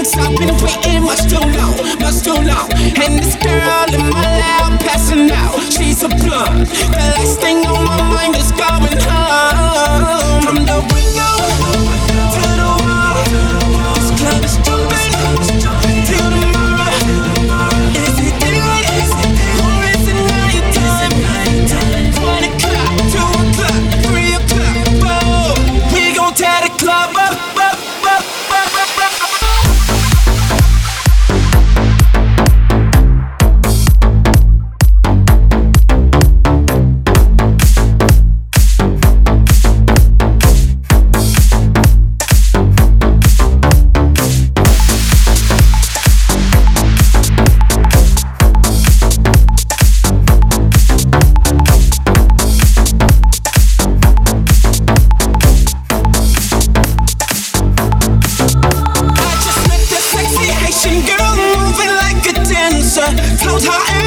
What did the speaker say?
Cause I've been waiting much too long, much too long. And this girl in my lap passing out, she's a blunt. The last thing on my mind is going home. From the window to the wall, this club is jumping till tomorrow. Is it daylight or is it nighttime? 1 o'clock, 2 o'clock, 3 o'clock, 4. We gon' tear the club up, up, up, up, up, up. Girl moving like a dancer, float her